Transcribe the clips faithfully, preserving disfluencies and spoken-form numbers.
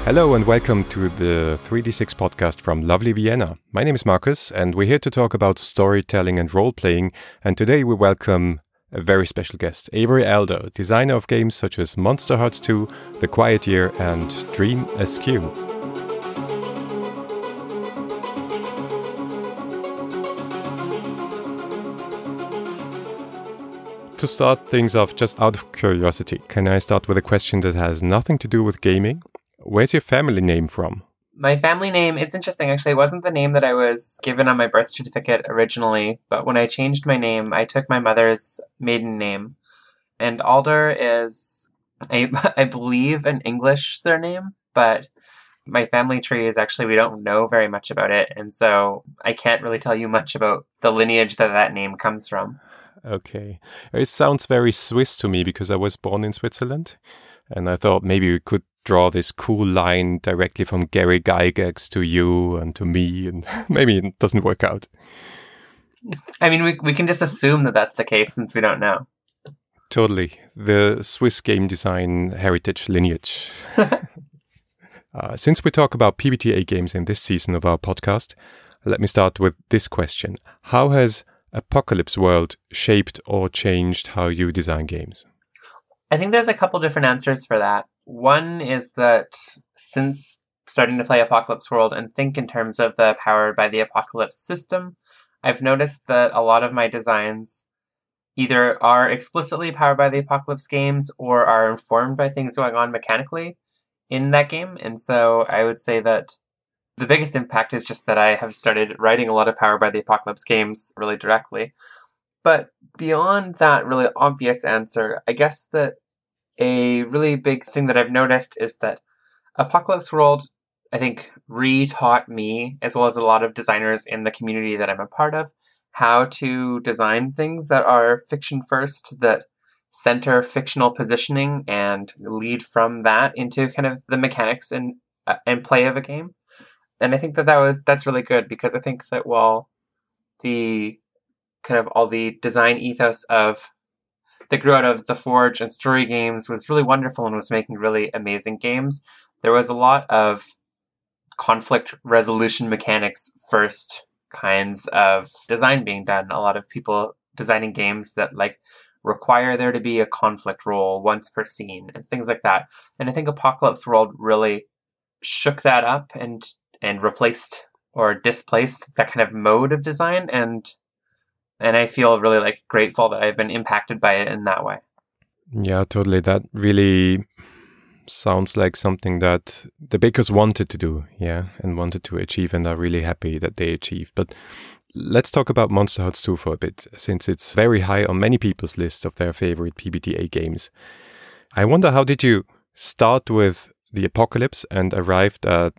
Hello and welcome to the three D six podcast from lovely Vienna. My name is Marcus and we're here to talk about storytelling and role-playing, and today we welcome a very special guest, Avery Alder, designer of games such as Monster Hearts two, The Quiet Year and Dream Askew. To start things off, just out of curiosity, can I start with a question that has nothing to do with gaming? Where's your family name from? My family name, it's interesting actually, it wasn't the name that I was given on my birth certificate originally, but when I changed my name, I took my mother's maiden name. And Alder is, I, I believe, an English surname, but my family tree is actually, we don't know very much about it, and so I can't really tell you much about the lineage that that name comes from. Okay. It sounds very Swiss to me because I was born in Switzerland, and I thought maybe we could draw this cool line directly from Gary Gygax to you and to me, and maybe it doesn't work out. I mean, we we can just assume that that's the case since we don't know. Totally. The Swiss game design heritage lineage. uh, since we talk about P B T A games in this season of our podcast, let me start with this question. How has Apocalypse World shaped or changed how you design games? I think there's a couple different answers for that. One is that since starting to play Apocalypse World and think in terms of the Powered by the Apocalypse system, I've noticed that a lot of my designs either are explicitly Powered by the Apocalypse games or are informed by things going on mechanically in that game. And so I would say that the biggest impact is just that I have started writing a lot of Powered by the Apocalypse games really directly. But beyond that really obvious answer, I guess that a really big thing that I've noticed is that Apocalypse World, I think, re-taught me, as well as a lot of designers in the community that I'm a part of, how to design things that are fiction first, that center fictional positioning and lead from that into kind of the mechanics and uh, and play of a game. And I think that, that was that's really good because I think that while the kind of all the design ethos of that grew out of the Forge and story games was really wonderful and was making really amazing games, there was a lot of conflict resolution mechanics first kinds of design being done. A lot of people designing games that like require there to be a conflict roll once per scene and things like that. And I think Apocalypse World really shook that up and and replaced or displaced that kind of mode of design, and And I feel really like grateful that I've been impacted by it in that way. Yeah, totally. That really sounds like something that the bakers wanted to do, yeah, and wanted to achieve, and are really happy that they achieved. But let's talk about Monster Hearts two for a bit, since it's very high on many people's list of their favorite P B T A games. I wonder, how did you start with the apocalypse and arrived at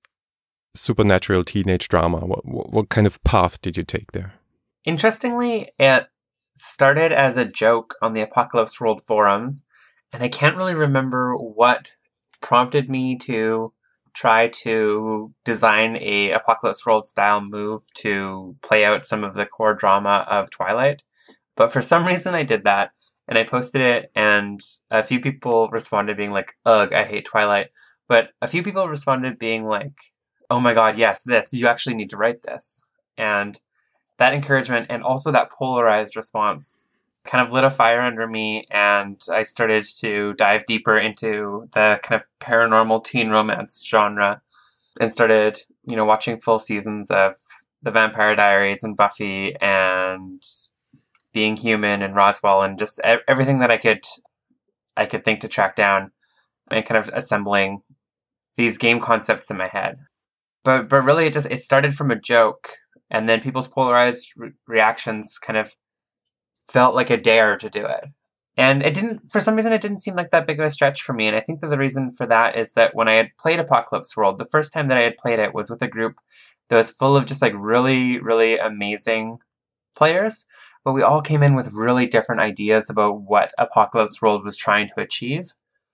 supernatural teenage drama? What, what, what kind of path did you take there? Interestingly, it started as a joke on the Apocalypse World forums, and I can't really remember what prompted me to try to design a Apocalypse World style move to play out some of the core drama of Twilight. But for some reason I did that, and I posted it, and a few people responded being like, ugh, I hate Twilight. But a few people responded being like, oh my god, yes, this, you actually need to write this. And that encouragement and also that polarized response kind of lit a fire under me, and I started to dive deeper into the kind of paranormal teen romance genre and started, you know, watching full seasons of The Vampire Diaries and Buffy and Being Human and Roswell and just everything that I could I could think to track down, and kind of assembling these game concepts in my head. But but really it just it started from a joke. And then people's polarized re- reactions kind of felt like a dare to do it. And it didn't, for some reason, it didn't seem like that big of a stretch for me. And I think that the reason for that is that when I had played Apocalypse World, the first time that I had played it was with a group that was full of just like really, really amazing players. But we all came in with really different ideas about what Apocalypse World was trying to achieve.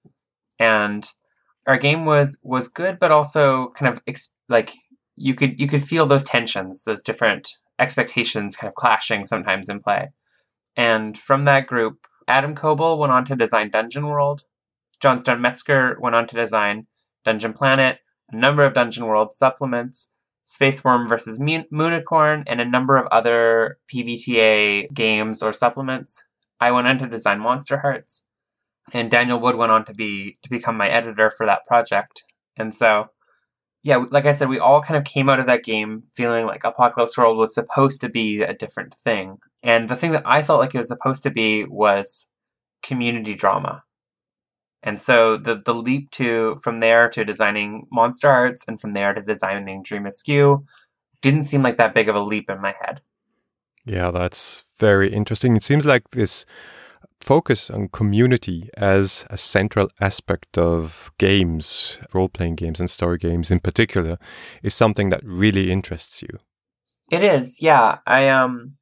And our game was, was good, but also kind of ex- like, you could you could feel those tensions, those different expectations kind of clashing sometimes in play. And from that group, Adam Koebel went on to design Dungeon World. John Stone Metzger went on to design Dungeon Planet, a number of Dungeon World supplements, Space Worm versus Moonicorn, and a number of other P B T A games or supplements. I went on to design Monster Hearts, and Daniel Wood went on to be to become my editor for that project. And so, yeah, like I said, we all kind of came out of that game feeling like Apocalypse World was supposed to be a different thing. And the thing that I felt like it was supposed to be was community drama. And so the the leap to from there to designing Monster Hearts and from there to designing Dream Askew didn't seem like that big of a leap in my head. Yeah, that's very interesting. It seems like this focus on community as a central aspect of games, role-playing games and story games in particular, is something that really interests you. It is, yeah. I um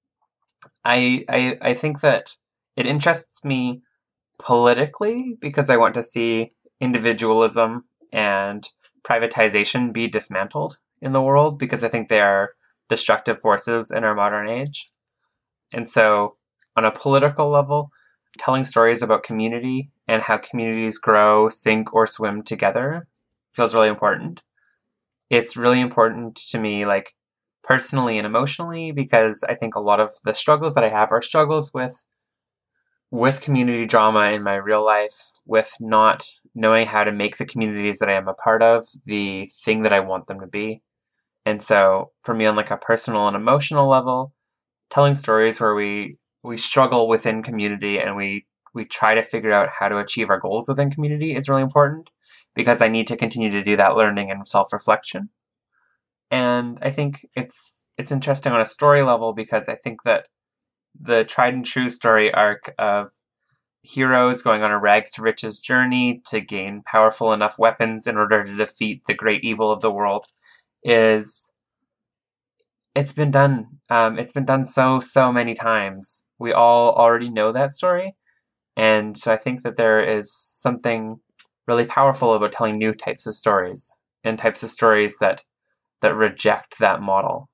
I I I think that it interests me politically because I want to see individualism and privatization be dismantled in the world because I think they are destructive forces in our modern age. And so on a political level, telling stories about community and how communities grow, sink, or swim together feels really important. It's really important to me, like, personally and emotionally, because I think a lot of the struggles that I have are struggles with with community drama in my real life, with not knowing how to make the communities that I am a part of the thing that I want them to be. And so for me, on like a personal and emotional level, telling stories where we we struggle within community and we we try to figure out how to achieve our goals within community is really important, because I need to continue to do that learning and self-reflection. And I think it's it's interesting on a story level because I think that the tried and true story arc of heroes going on a rags to riches journey to gain powerful enough weapons in order to defeat the great evil of the world is it's been done. Um, it's been done so, so many times. We all already know that story. And so I think that there is something really powerful about telling new types of stories and types of stories that that reject that model.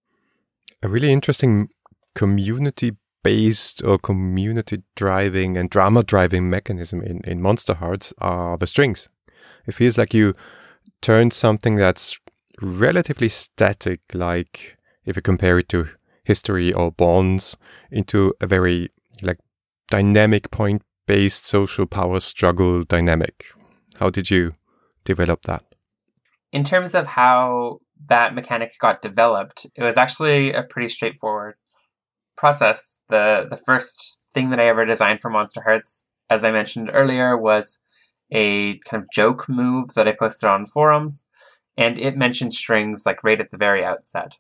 A really interesting community-based or community-driving and drama-driving mechanism in, in Monster Hearts are the strings. It feels like you turned something that's relatively static, like if you compare it to history or bonds, into a very like dynamic point-based social power struggle dynamic. How did you develop that? In terms of how that mechanic got developed, it was actually a pretty straightforward process. The the first thing that I ever designed for Monster Hearts, as I mentioned earlier, was a kind of joke move that I posted on forums, and it mentioned strings like right at the very outset.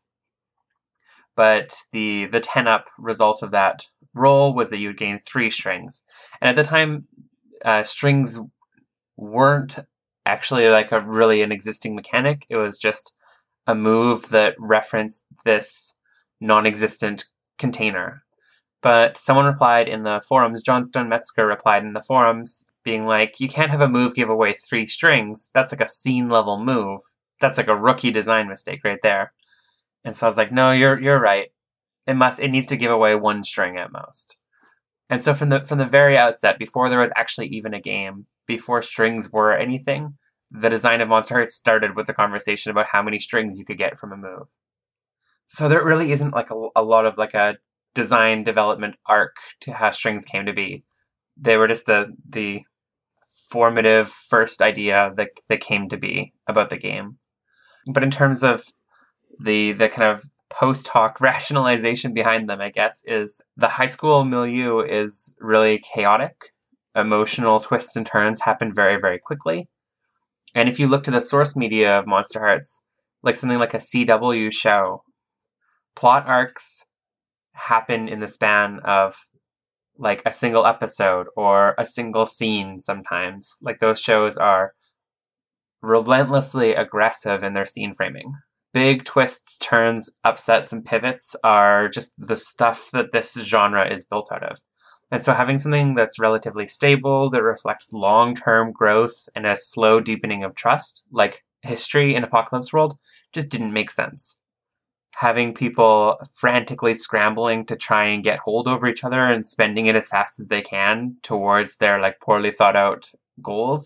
But the the ten-up result of that roll was that you would gain three strings. And at the time, uh, strings weren't actually like a really an existing mechanic. It was just a move that referenced this non-existent container. But someone replied in the forums, John Stone Metzger replied in the forums, being like, you can't have a move give away three strings. That's like a scene level move. That's like a rookie design mistake right there. And so I was like, no, you're you're right. It must it needs to give away one string at most. And so from the from the very outset, before there was actually even a game, before strings were anything, the design of Monster Hearts started with the conversation about how many strings you could get from a move. So there really isn't like a, a lot of like a design development arc to how strings came to be. They were just the the formative first idea that that came to be about the game. But in terms of the the kind of post hoc rationalization behind them, I guess, is the high school milieu is really chaotic. Emotional twists and turns happen very, very quickly. And if you look to the source media of Monster Hearts, like something like a C W show, plot arcs happen in the span of like a single episode or a single scene sometimes. Like those shows are relentlessly aggressive in their scene framing. Big twists, turns, upsets, and pivots are just the stuff that this genre is built out of. And so having something that's relatively stable, that reflects long-term growth and a slow deepening of trust, like history in Apocalypse World, just didn't make sense. Having people frantically scrambling to try and get hold over each other and spending it as fast as they can towards their like poorly thought out goals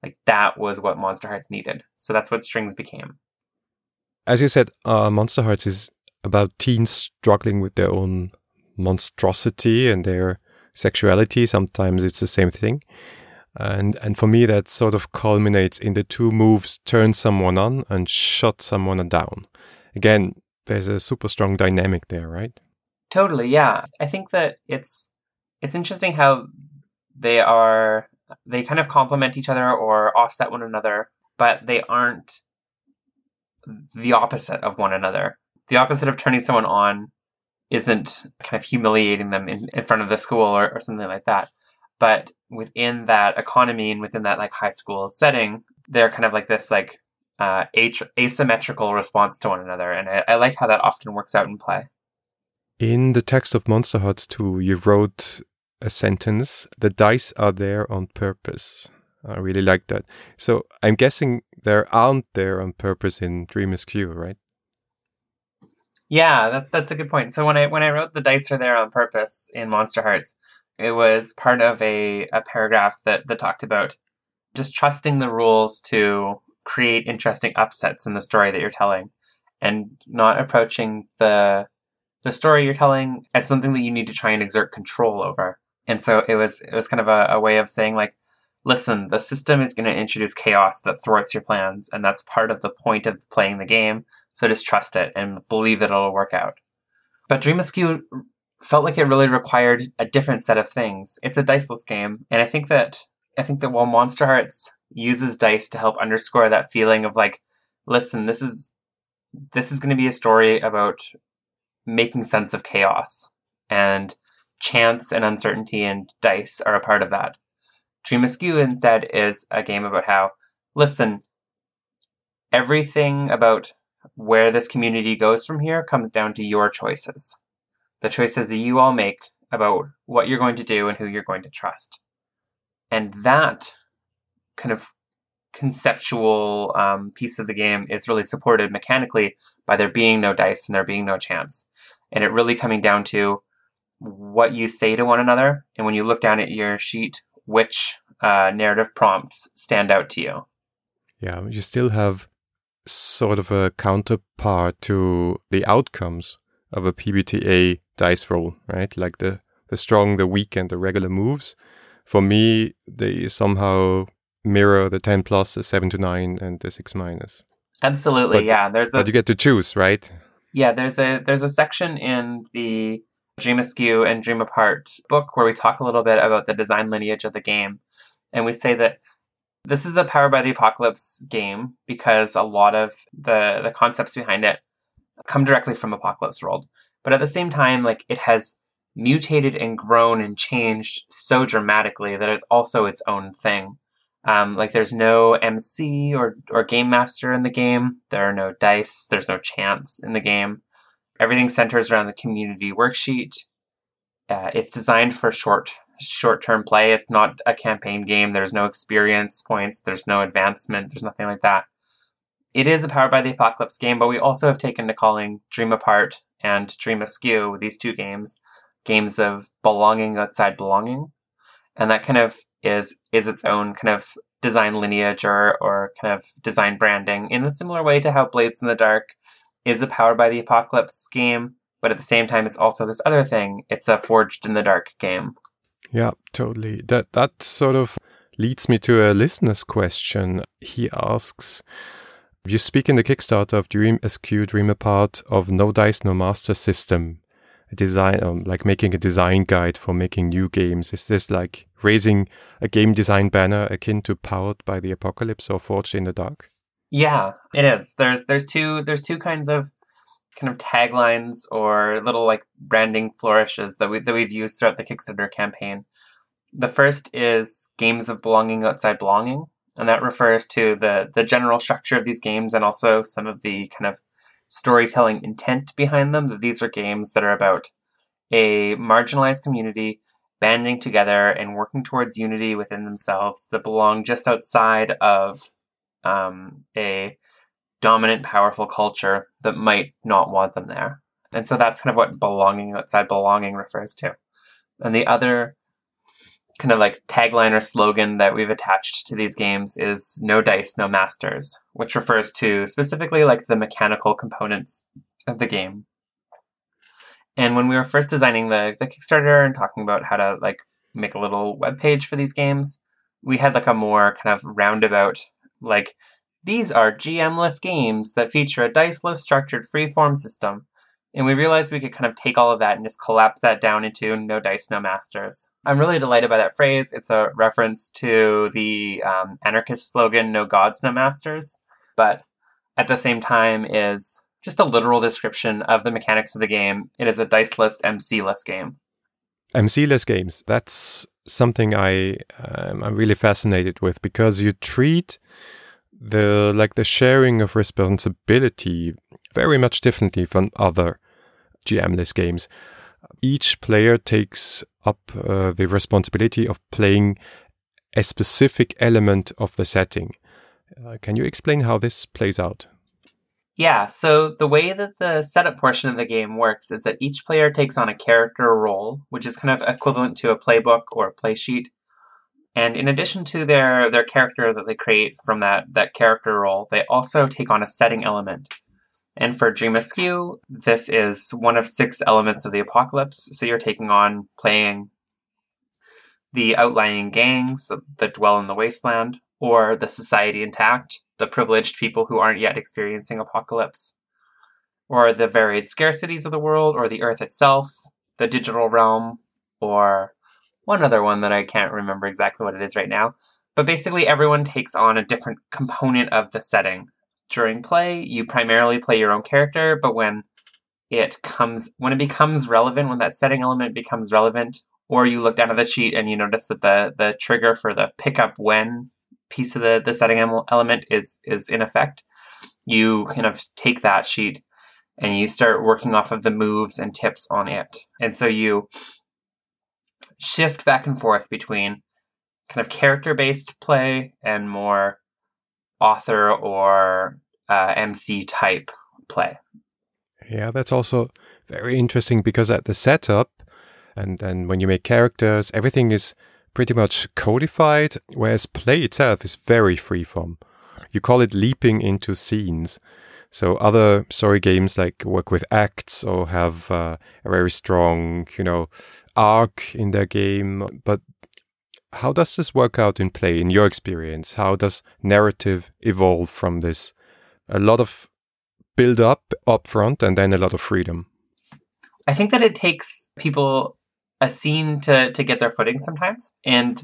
Like that was what Monster Hearts needed. So that's what Strings became. As you said, uh, Monster Hearts is about teens struggling with their own monstrosity and their sexuality. Sometimes it's the same thing. And and for me, that sort of culminates in the two moves: turn someone on and shut someone down. Again, there's a super strong dynamic there, right? Totally, yeah. I think that it's it's interesting how they are they kind of complement each other or offset one another, but they aren't the opposite of one another. The opposite of turning someone on isn't kind of humiliating them in, in front of the school or, or something like that. But within that economy and within that like high school setting, they're kind of like this like uh, a- asymmetrical response to one another. And I, I like how that often works out in play. In the text of Monster Hearts two, you wrote a sentence, "The dice are there on purpose." I really like that. So I'm guessing they aren't there on purpose in Dream Askew, right? Yeah, that, that's a good point. So when I when I wrote "The dice are there on purpose" in Monster Hearts, it was part of a, a paragraph that, that talked about just trusting the rules to create interesting upsets in the story that you're telling, and not approaching the the story you're telling as something that you need to try and exert control over. And so it was it was kind of a, a way of saying like, listen, the system is going to introduce chaos that thwarts your plans, and that's part of the point of playing the game. So just trust it and believe that it'll work out. But Dream Askew felt like it really required a different set of things. It's a diceless game, and I think that I think that while Monster Hearts uses dice to help underscore that feeling of like, listen, this is this is going to be a story about making sense of chaos, and chance and uncertainty and dice are a part of that. Dream Askew instead is a game about how, listen, everything about where this community goes from here comes down to your choices. The choices that you all make about what you're going to do and who you're going to trust. And that kind of conceptual um, piece of the game is really supported mechanically by there being no dice and there being no chance. And it really coming down to what you say to one another. And when you look down at your sheet, which uh, narrative prompts stand out to you. Yeah, you still have sort of a counterpart to the outcomes of a P B T A dice roll, right? Like the, the strong, the weak, and the regular moves. For me, they somehow mirror the ten plus, the seven to nine, and the six minus. Absolutely, but, yeah. There's a, but you get to choose, right? Yeah, there's a there's a section in the Dream Askew and Dream Apart book where we talk a little bit about the design lineage of the game. And we say that this is a Power by the Apocalypse game because a lot of the, the concepts behind it come directly from Apocalypse World. But at the same time, like it has mutated and grown and changed so dramatically that it's also its own thing. Um, like there's no M C or or game master in the game. There are no dice. There's no chance in the game. Everything centers around the community worksheet. Uh, it's designed for short short-term play. It's not a campaign game. There's no experience points. There's no advancement. There's nothing like that. It is a Power by the Apocalypse game, but we also have taken to calling Dream Apart and Dream Askew, these two games, games of belonging outside belonging. And that kind of is is its own kind of design lineage or, or kind of design branding in a similar way to how Blades in the Dark is a Power by the Apocalypse game, but at the same time, it's also this other thing. It's a Forged in the Dark game. Yeah, totally. That that sort of leads me to a listener's question. He asks, you speak in the Kickstarter of Dream Askew, Dream Apart of No Dice, No Master system, a design, um, like making a design guide for making new games. Is this like raising a game design banner akin to Powered by the Apocalypse or Forged in the Dark? Yeah, it is. There's there's two there's two kinds of kind of taglines or little like branding flourishes that we that we've used throughout the Kickstarter campaign. The first is games of belonging outside belonging, and that refers to the the general structure of these games and also some of the kind of storytelling intent behind them. That these are games that are about a marginalized community banding together and working towards unity within themselves that belong just outside of um, a dominant, powerful culture that might not want them there. And so that's kind of what belonging outside belonging refers to. And the other kind of like tagline or slogan that we've attached to these games is no dice, no masters, which refers to specifically like the mechanical components of the game. And when we were first designing the, the Kickstarter and talking about how to like make a little web page for these games, we had like a more kind of roundabout, like, these are G M-less games that feature a dice-less structured free-form system. And we realized we could kind of take all of that and just collapse that down into no dice, no masters. I'm really delighted by that phrase. It's a reference to the um, anarchist slogan, no gods, no masters. But at the same time is just a literal description of the mechanics of the game. It is a diceless, M C-less game. M C-less games, that's something I, um, I'm really fascinated with, because you treat the like the sharing of responsibility very much differently from other G M-less games. Each player takes up uh, the responsibility of playing a specific element of the setting. Uh, can you explain how this plays out? Yeah, so the way that the setup portion of the game works is that each player takes on a character role, which is kind of equivalent to a playbook or a play sheet. And in addition to their, their character that they create from that, that character role, they also take on a setting element. And for Dream Askew, this is one of six elements of the apocalypse. So you're taking on playing the outlying gangs that, that dwell in the wasteland, or the society intact, the privileged people who aren't yet experiencing apocalypse, or the varied scarcities of the world, or the earth itself, the digital realm, or one other one that I can't remember exactly what it is right now. But basically everyone takes on a different component of the setting. During play, you primarily play your own character, but when it comes, when it becomes relevant, when that setting element becomes relevant, or you look down at the sheet and you notice that the, the trigger for the pick up when piece of the, the setting element is, is in effect, you kind of take that sheet and you start working off of the moves and tips on it. And so you shift back and forth between kind of character-based play and more author or uh, M C type play. Yeah, that's also very interesting, because at the setup and then when you make characters, everything is pretty much codified, whereas play itself is very freeform. You call it leaping into scenes. So other story games like work with acts or have uh, a very strong, you know, arc in their game. But how does this work out in play, in your experience? How does narrative evolve from this? A lot of build up up front and then a lot of freedom. I think that it takes people a scene to, to get their footing sometimes. And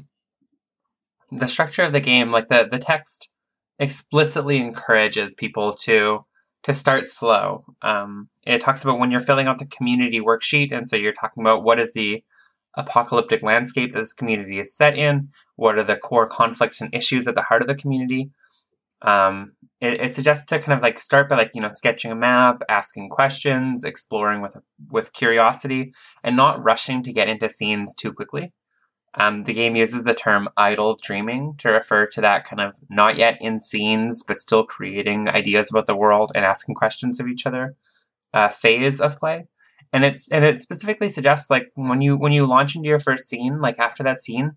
the structure of the game, like the, the text explicitly encourages people to to start slow. Um, it talks about when you're filling out the community worksheet, and so you're talking about what is the apocalyptic landscape that this community is set in, what are the core conflicts and issues at the heart of the community. Um, it, it suggests to kind of like start by like, you know, sketching a map, asking questions, exploring with with curiosity, and not rushing to get into scenes too quickly. Um, the game uses the term idle dreaming to refer to that kind of not yet in scenes, but still creating ideas about the world and asking questions of each other uh, phase of play. And it's and it specifically suggests like when you when you launch into your first scene, like after that scene,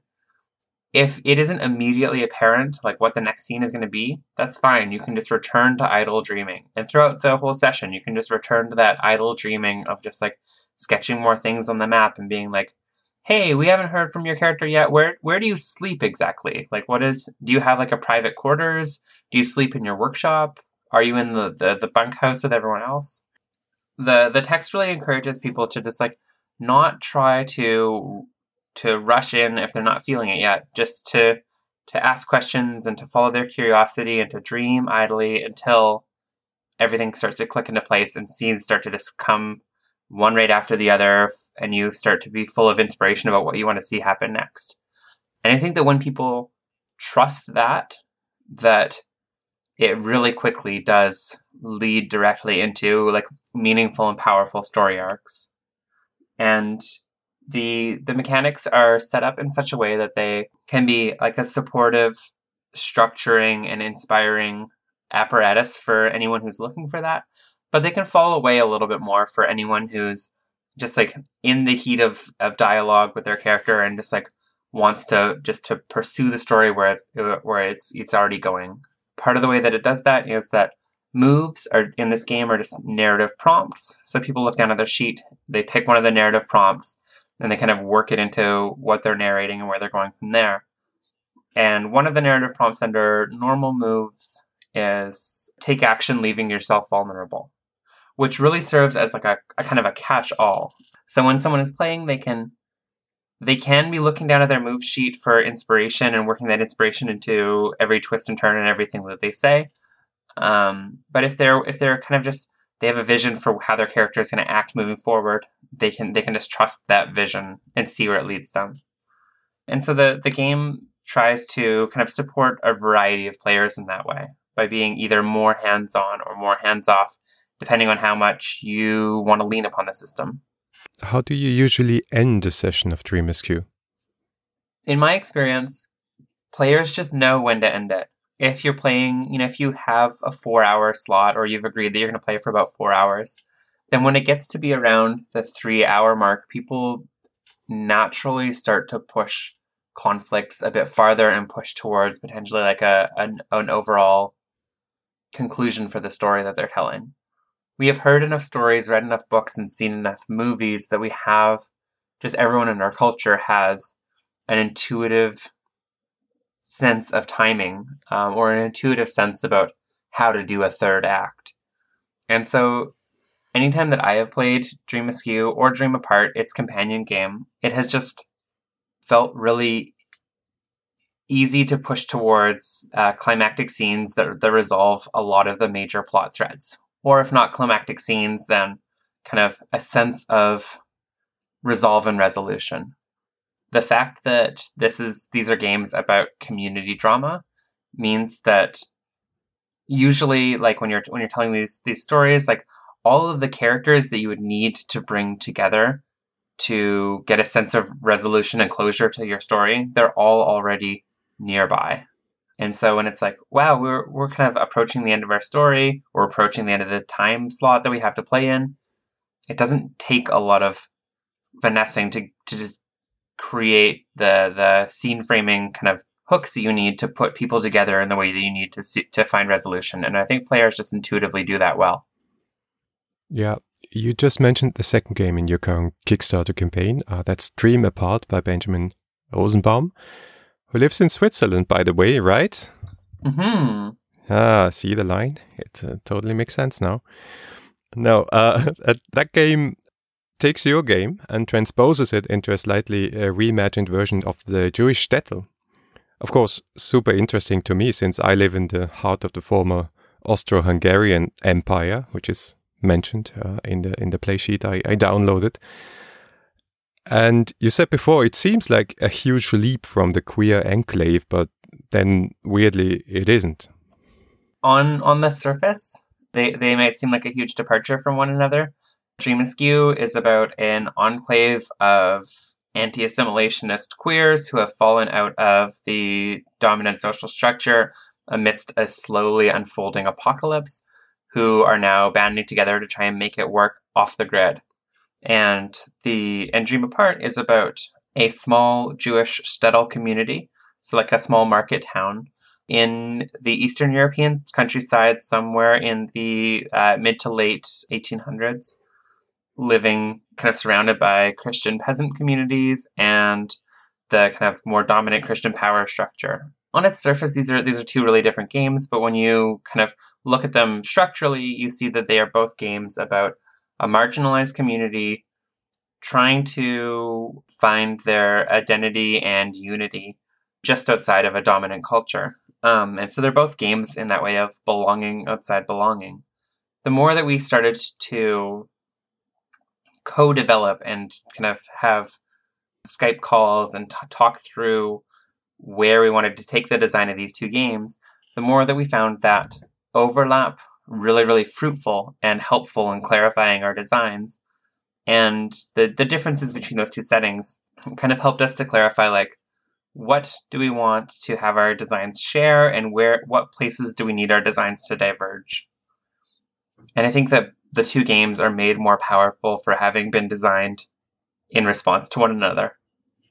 if it isn't immediately apparent like what the next scene is going to be, that's fine. You can just return to idle dreaming. And throughout the whole session, you can just return to that idle dreaming of just like sketching more things on the map and being like, hey, we haven't heard from your character yet. Where where do you sleep exactly? Like, what is, do you have like a private quarters? Do you sleep in your workshop? Are you in the, the, the bunkhouse with everyone else? The the text really encourages people to just like not try to to rush in if they're not feeling it yet, just to to ask questions and to follow their curiosity and to dream idly until everything starts to click into place and scenes start to just come one right after the other, and you start to be full of inspiration about what you want to see happen next. And I think that when people trust that, that it really quickly does lead directly into like meaningful and powerful story arcs. And the the mechanics are set up in such a way that they can be like a supportive, structuring, and inspiring apparatus for anyone who's looking for that. But they can fall away a little bit more for anyone who's just like in the heat of, of dialogue with their character and just like wants to just to pursue the story where it's, where it's it's already going. Part of the way that it does that is that moves are in this game are just narrative prompts. So people look down at their sheet, they pick one of the narrative prompts, and they kind of work it into what they're narrating and where they're going from there. And one of the narrative prompts under normal moves is take action leaving yourself vulnerable, which really serves as like a, a kind of a catch-all. So when someone is playing, they can they can be looking down at their move sheet for inspiration and working that inspiration into every twist and turn and everything that they say. Um, but if they're if they're kind of just they have a vision for how their character is going to act moving forward, they can they can just trust that vision and see where it leads them. And so the the game tries to kind of support a variety of players in that way by being either more hands-on or more hands-off, depending on how much you want to lean upon the system. How do you usually end a session of Dream Askew? In my experience, players just know when to end it. If you're playing, you know, if you have a four-hour slot or you've agreed that you're going to play for about four hours, then when it gets to be around the three-hour mark, people naturally start to push conflicts a bit farther and push towards potentially like a an, an overall conclusion for the story that they're telling. We have heard enough stories, read enough books, and seen enough movies that we have, just everyone in our culture has an intuitive sense of timing um, or an intuitive sense about how to do a third act. And so anytime that I have played Dream Askew or Dream Apart, its companion game, it has just felt really easy to push towards uh, climactic scenes that, that resolve a lot of the major plot threads. Or if not climactic scenes, then kind of a sense of resolve and resolution. The fact that this is these are games about community drama means that usually, like when you're when you're telling these these stories, like all of the characters that you would need to bring together to get a sense of resolution and closure to your story, they're all already nearby. And so when it's like, wow, we're we're kind of approaching the end of our story, we're approaching the end of the time slot that we have to play in, it doesn't take a lot of finessing to, to just create the the scene framing kind of hooks that you need to put people together in the way that you need to see, to find resolution. And I think players just intuitively do that well. Yeah, you just mentioned the second game in your current Kickstarter campaign. Uh, that's Dream Apart by Benjamin Rosenbaum, who lives in Switzerland, by the way, right? Mm-hmm. Ah, see the line? It uh, totally makes sense now. No, uh, that game takes your game and transposes it into a slightly uh, reimagined version of the Jewish shtetl. Of course, super interesting to me since I live in the heart of the former Austro-Hungarian Empire, which is mentioned uh, in the in the play sheet I, I downloaded. And you said before, it seems like a huge leap from the queer enclave, but then weirdly it isn't. On on the surface, they, they might seem like a huge departure from one another. Dream Askew is about an enclave of anti-assimilationist queers who have fallen out of the dominant social structure amidst a slowly unfolding apocalypse, who are now banding together to try and make it work off the grid. And the and Dream Apart is about a small Jewish shtetl community, so like a small market town in the Eastern European countryside, somewhere in the uh, mid to late eighteen hundreds, living kind of surrounded by Christian peasant communities and the kind of more dominant Christian power structure. On its surface, these are these are two really different games, but when you kind of look at them structurally, you see that they are both games about a marginalized community trying to find their identity and unity just outside of a dominant culture. Um, and so they're both games in that way of belonging outside belonging. The more that we started to co-develop and kind of have Skype calls and t- talk through where we wanted to take the design of these two games, the more that we found that overlap really, really fruitful and helpful in clarifying our designs. And the, the differences between those two settings kind of helped us to clarify, like, what do we want to have our designs share and where, what places do we need our designs to diverge? And I think that the two games are made more powerful for having been designed in response to one another.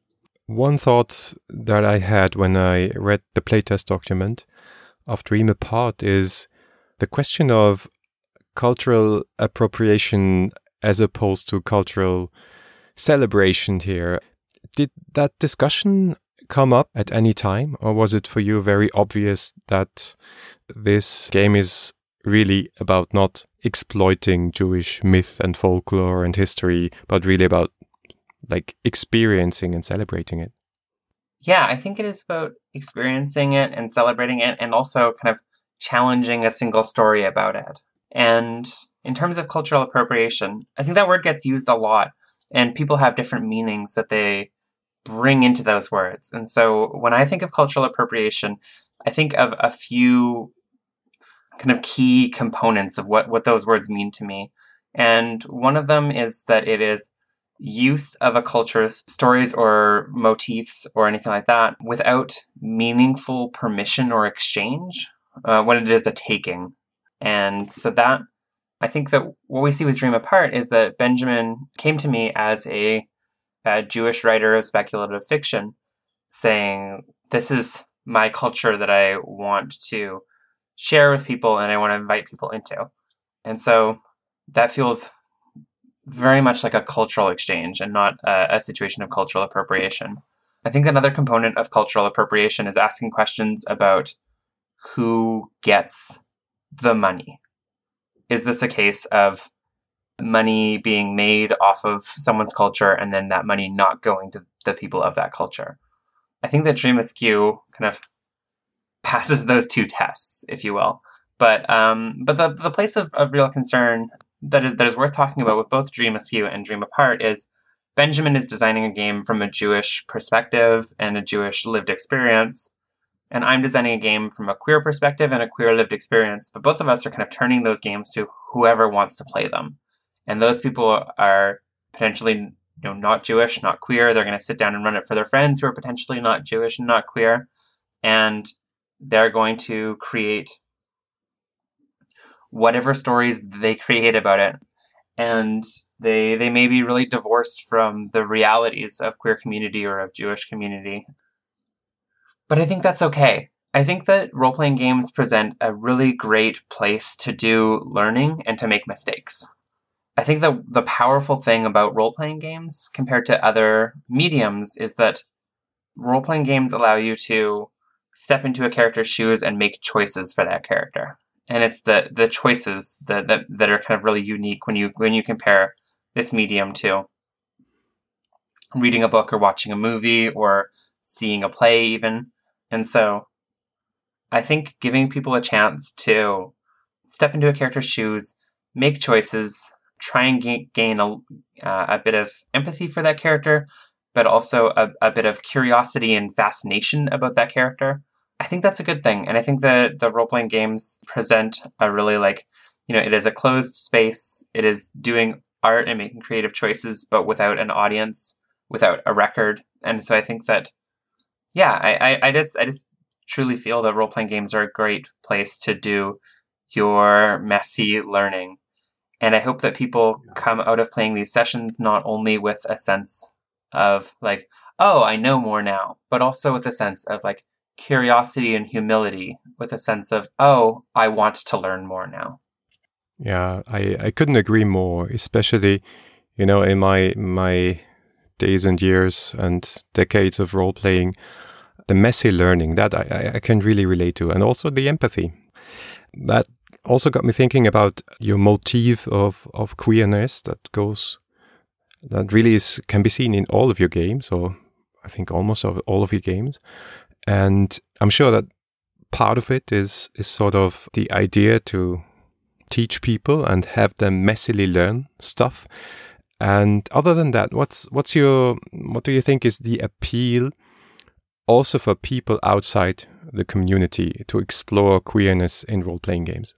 One thought that I had when I read the playtest document of Dream Apart is the question of cultural appropriation as opposed to cultural celebration here. Did that discussion come up at any time, or was it for you very obvious that this game is really about not exploiting Jewish myth and folklore and history, but really about like experiencing and celebrating it? Yeah, I think it is about experiencing it and celebrating it, and also kind of challenging a single story about it. And in terms of cultural appropriation, I think that word gets used a lot, and people have different meanings that they bring into those words. And so when I think of cultural appropriation, I think of a few kind of key components of what, what those words mean to me. And one of them is that it is use of a culture's stories or motifs or anything like that without meaningful permission or exchange, uh, when it is a taking. And so that, I think that what we see with Dream Apart is that Benjamin came to me as a, a Jewish writer of speculative fiction, saying, this is my culture that I want to share with people and I want to invite people into. And so that feels very much like a cultural exchange and not a, a situation of cultural appropriation. I think another component of cultural appropriation is asking questions about who gets the money. Is this a case of money being made off of someone's culture and then that money not going to the people of that culture? I think that Dream Askew kind of passes those two tests, if you will. But um, but the the place of, of real concern that is, that is worth talking about with both Dream Askew and Dream Apart is Benjamin is designing a game from a Jewish perspective and a Jewish lived experience. And I'm designing a game from a queer perspective and a queer lived experience. But both of us are kind of turning those games to whoever wants to play them. And those people are potentially, you know, not Jewish, not queer. They're going to sit down and run it for their friends who are potentially not Jewish and not queer. And they're going to create whatever stories they create about it. And they they may be really divorced from the realities of queer community or of Jewish community. But I think that's okay. I think that role-playing games present a really great place to do learning and to make mistakes. I think that the powerful thing about role-playing games compared to other mediums is that role-playing games allow you to step into a character's shoes and make choices for that character. And it's the the choices that, that that are kind of really unique when you when you compare this medium to reading a book or watching a movie or seeing a play even. And so I think giving people a chance to step into a character's shoes, make choices, try and gain, gain a, uh, a bit of empathy for that character, but also a, a bit of curiosity and fascination about that character. I think that's a good thing. And I think that the role-playing games present a really like, you know, it is a closed space. It is doing art and making creative choices, but without an audience, without a record. And so I think that, yeah, I, I, I just I just truly feel that role-playing games are a great place to do your messy learning. And I hope that people come out of playing these sessions not only with a sense of like, oh, I know more now, but also with a sense of like curiosity and humility, with a sense of, oh, I want to learn more now. Yeah, I, I couldn't agree more, especially, you know, in my my days and years and decades of role-playing, the messy learning, that I, I can really relate to, and also the empathy. That also got me thinking about your motif of, of queerness that goes, that really is can be seen in all of your games, or I think almost of all of your games. And I'm sure that part of it is is sort of the idea to teach people and have them messily learn stuff. And other than that, what's what's your what do you think is the appeal also for people outside the community to explore queerness in role-playing games?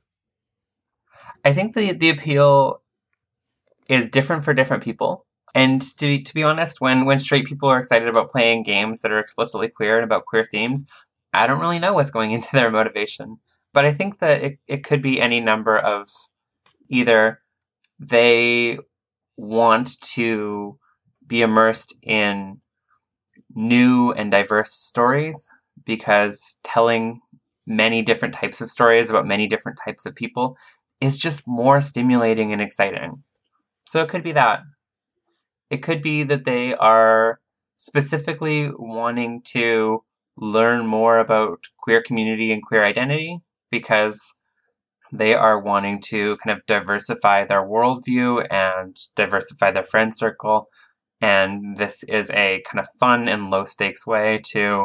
I think the the appeal is different for different people. And to be, to be honest, when, when straight people are excited about playing games that are explicitly queer and about queer themes, I don't really know what's going into their motivation. But I think that it, it could be any number of either they want to be immersed in new and diverse stories, because telling many different types of stories about many different types of people is just more stimulating and exciting. So it could be that. It could be that they are specifically wanting to learn more about queer community and queer identity because they are wanting to kind of diversify their worldview and diversify their friend circle. And this is a kind of fun and low stakes way to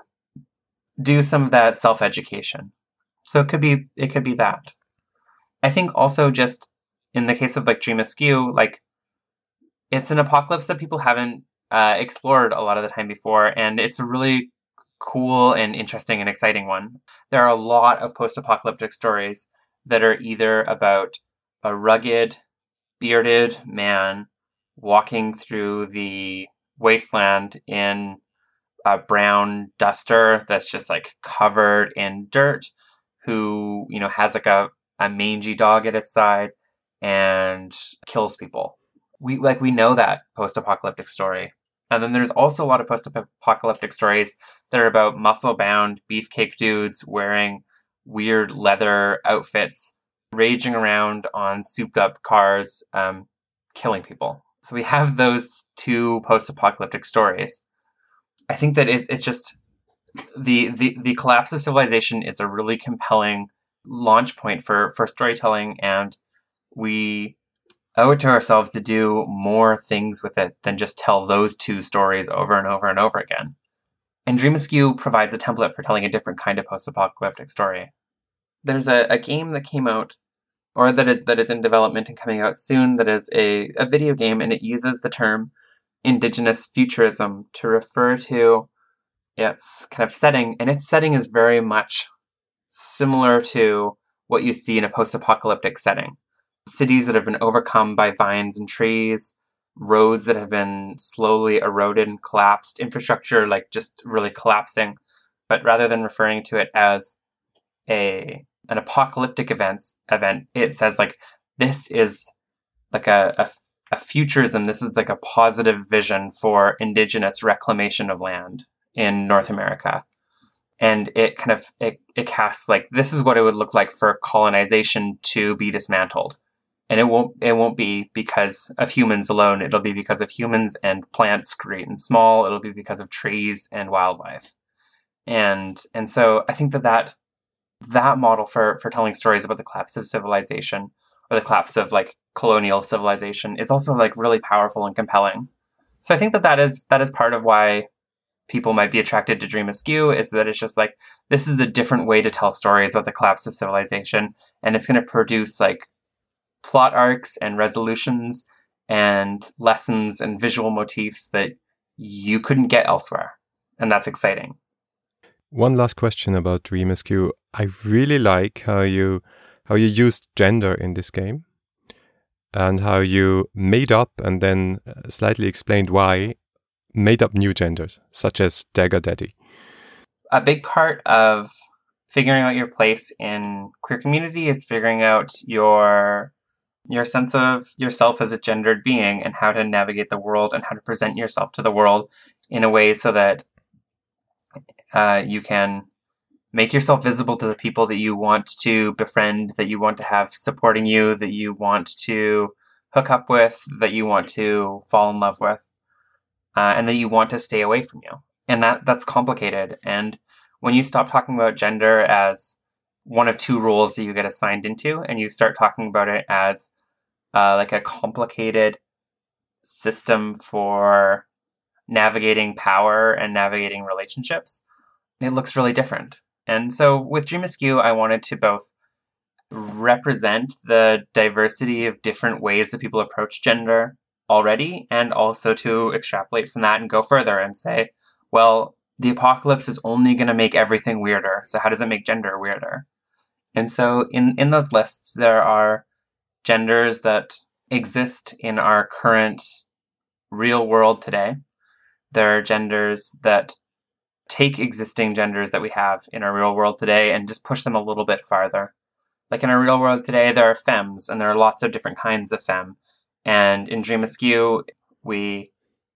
do some of that self-education. So it could be it could be that. I think also just in the case of like Dream Askew, like it's an apocalypse that people haven't uh, explored a lot of the time before, and it's a really cool and interesting and exciting one. There are a lot of post-apocalyptic stories that are either about a rugged, bearded man walking through the wasteland in a brown duster that's just like covered in dirt, who, you know, has like a, a mangy dog at his side and kills people. We like we know that post-apocalyptic story. And then there's also a lot of post-apocalyptic stories that are about muscle-bound beefcake dudes wearing weird leather outfits, raging around on souped-up cars, um, killing people. So we have those two post-apocalyptic stories. I think that it's, it's just the, the the collapse of civilization is a really compelling launch point for, for storytelling, and we owe it to ourselves to do more things with it than just tell those two stories over and over and over again. And Dream Askew provides a template for telling a different kind of post-apocalyptic story. There's a, a game that came out, or that is, that is in development and coming out soon, that is a, a video game, and it uses the term Indigenous futurism to refer to its kind of setting, and its setting is very much similar to what you see in a post-apocalyptic setting. Cities that have been overcome by vines and trees, roads that have been slowly eroded and collapsed, infrastructure like just really collapsing. But rather than referring to it as a an apocalyptic event, event, it says like this is like a, a, a futurism. This is like a positive vision for indigenous reclamation of land in North America. And it kind of it, it casts like this is what it would look like for colonization to be dismantled. And it won't it won't be because of humans alone. It'll be because of humans and plants, great and small. It'll be because of trees and wildlife. And and so I think that that, that model for, for telling stories about the collapse of civilization, or the collapse of like colonial civilization, is also like really powerful and compelling. So I think that that is that is part of why people might be attracted to Dream Askew, is that it's just like this is a different way to tell stories about the collapse of civilization, and it's going to produce like plot arcs and resolutions and lessons and visual motifs that you couldn't get elsewhere. And that's exciting. One last question about Dream Askew. I really like how you how you used gender in this game, and how you made up and then slightly explained why, made up new genders, such as Dagger Daddy. A big part of figuring out your place in queer community is figuring out your your sense of yourself as a gendered being, and how to navigate the world and how to present yourself to the world in a way so that uh, you can make yourself visible to the people that you want to befriend, that you want to have supporting you, that you want to hook up with, that you want to fall in love with, uh, and that you want to stay away from you. And that that's complicated. And when you stop talking about gender as one of two roles that you get assigned into, and you start talking about it as Uh, like a complicated system for navigating power and navigating relationships, it looks really different. And so with Dream Askew, I wanted to both represent the diversity of different ways that people approach gender already, and also to extrapolate from that and go further and say, well, the apocalypse is only going to make everything weirder. So how does it make gender weirder? And so in, in those lists, there are genders that exist in our current real world today. There are genders that take existing genders that we have in our real world today and just push them a little bit farther. Like in our real world today, there are femmes, and there are lots of different kinds of femme. And in Dream Askew, we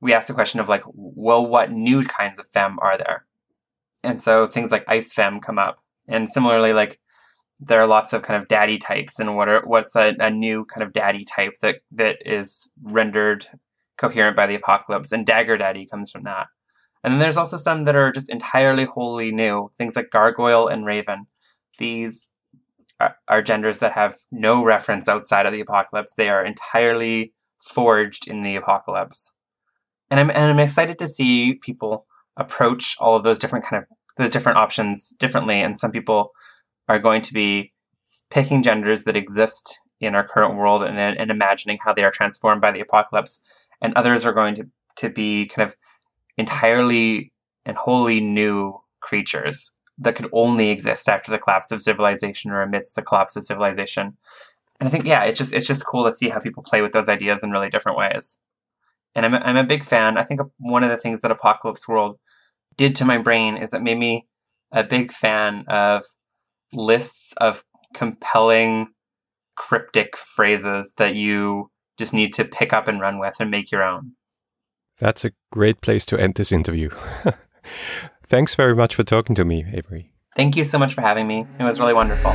we ask the question of like, well, what new kinds of femme are there? And so things like ice femme come up. And similarly, like there are lots of kind of daddy types, and what are what's a, a new kind of daddy type that that is rendered coherent by the apocalypse, and dagger daddy comes from that. And then there's also some that are just entirely wholly new, things like gargoyle and raven. These are, are genders that have no reference outside of the apocalypse. They are entirely forged in the apocalypse. And I'm and I'm excited to see people approach all of those different kind of those different options differently. And some people are going to be picking genders that exist in our current world and, and imagining how they are transformed by the apocalypse. And others are going to, to be kind of entirely and wholly new creatures that could only exist after the collapse of civilization or amidst the collapse of civilization. And I think, yeah, it's just it's just cool to see how people play with those ideas in really different ways. And I'm a, I'm a big fan. I think one of the things that Apocalypse World did to my brain is it made me a big fan of lists of compelling, cryptic phrases that you just need to pick up and run with and make your own. That's a great place to end this interview. Thanks very much for talking to me, Avery. Thank you so much for having me. It was really wonderful.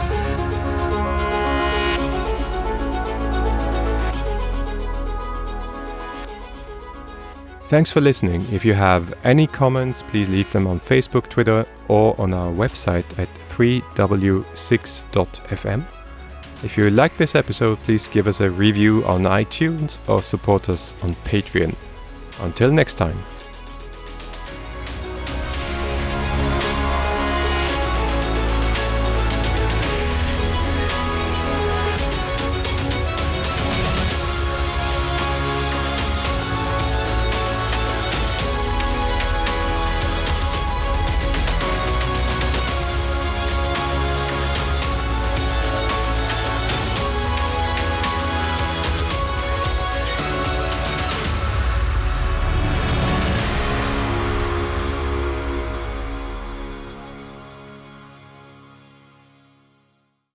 Thanks for listening. If you have any comments, please leave them on Facebook, Twitter, or on our website at three w six dot f m. If you like this episode, please give us a review on iTunes or support us on Patreon. Until next time.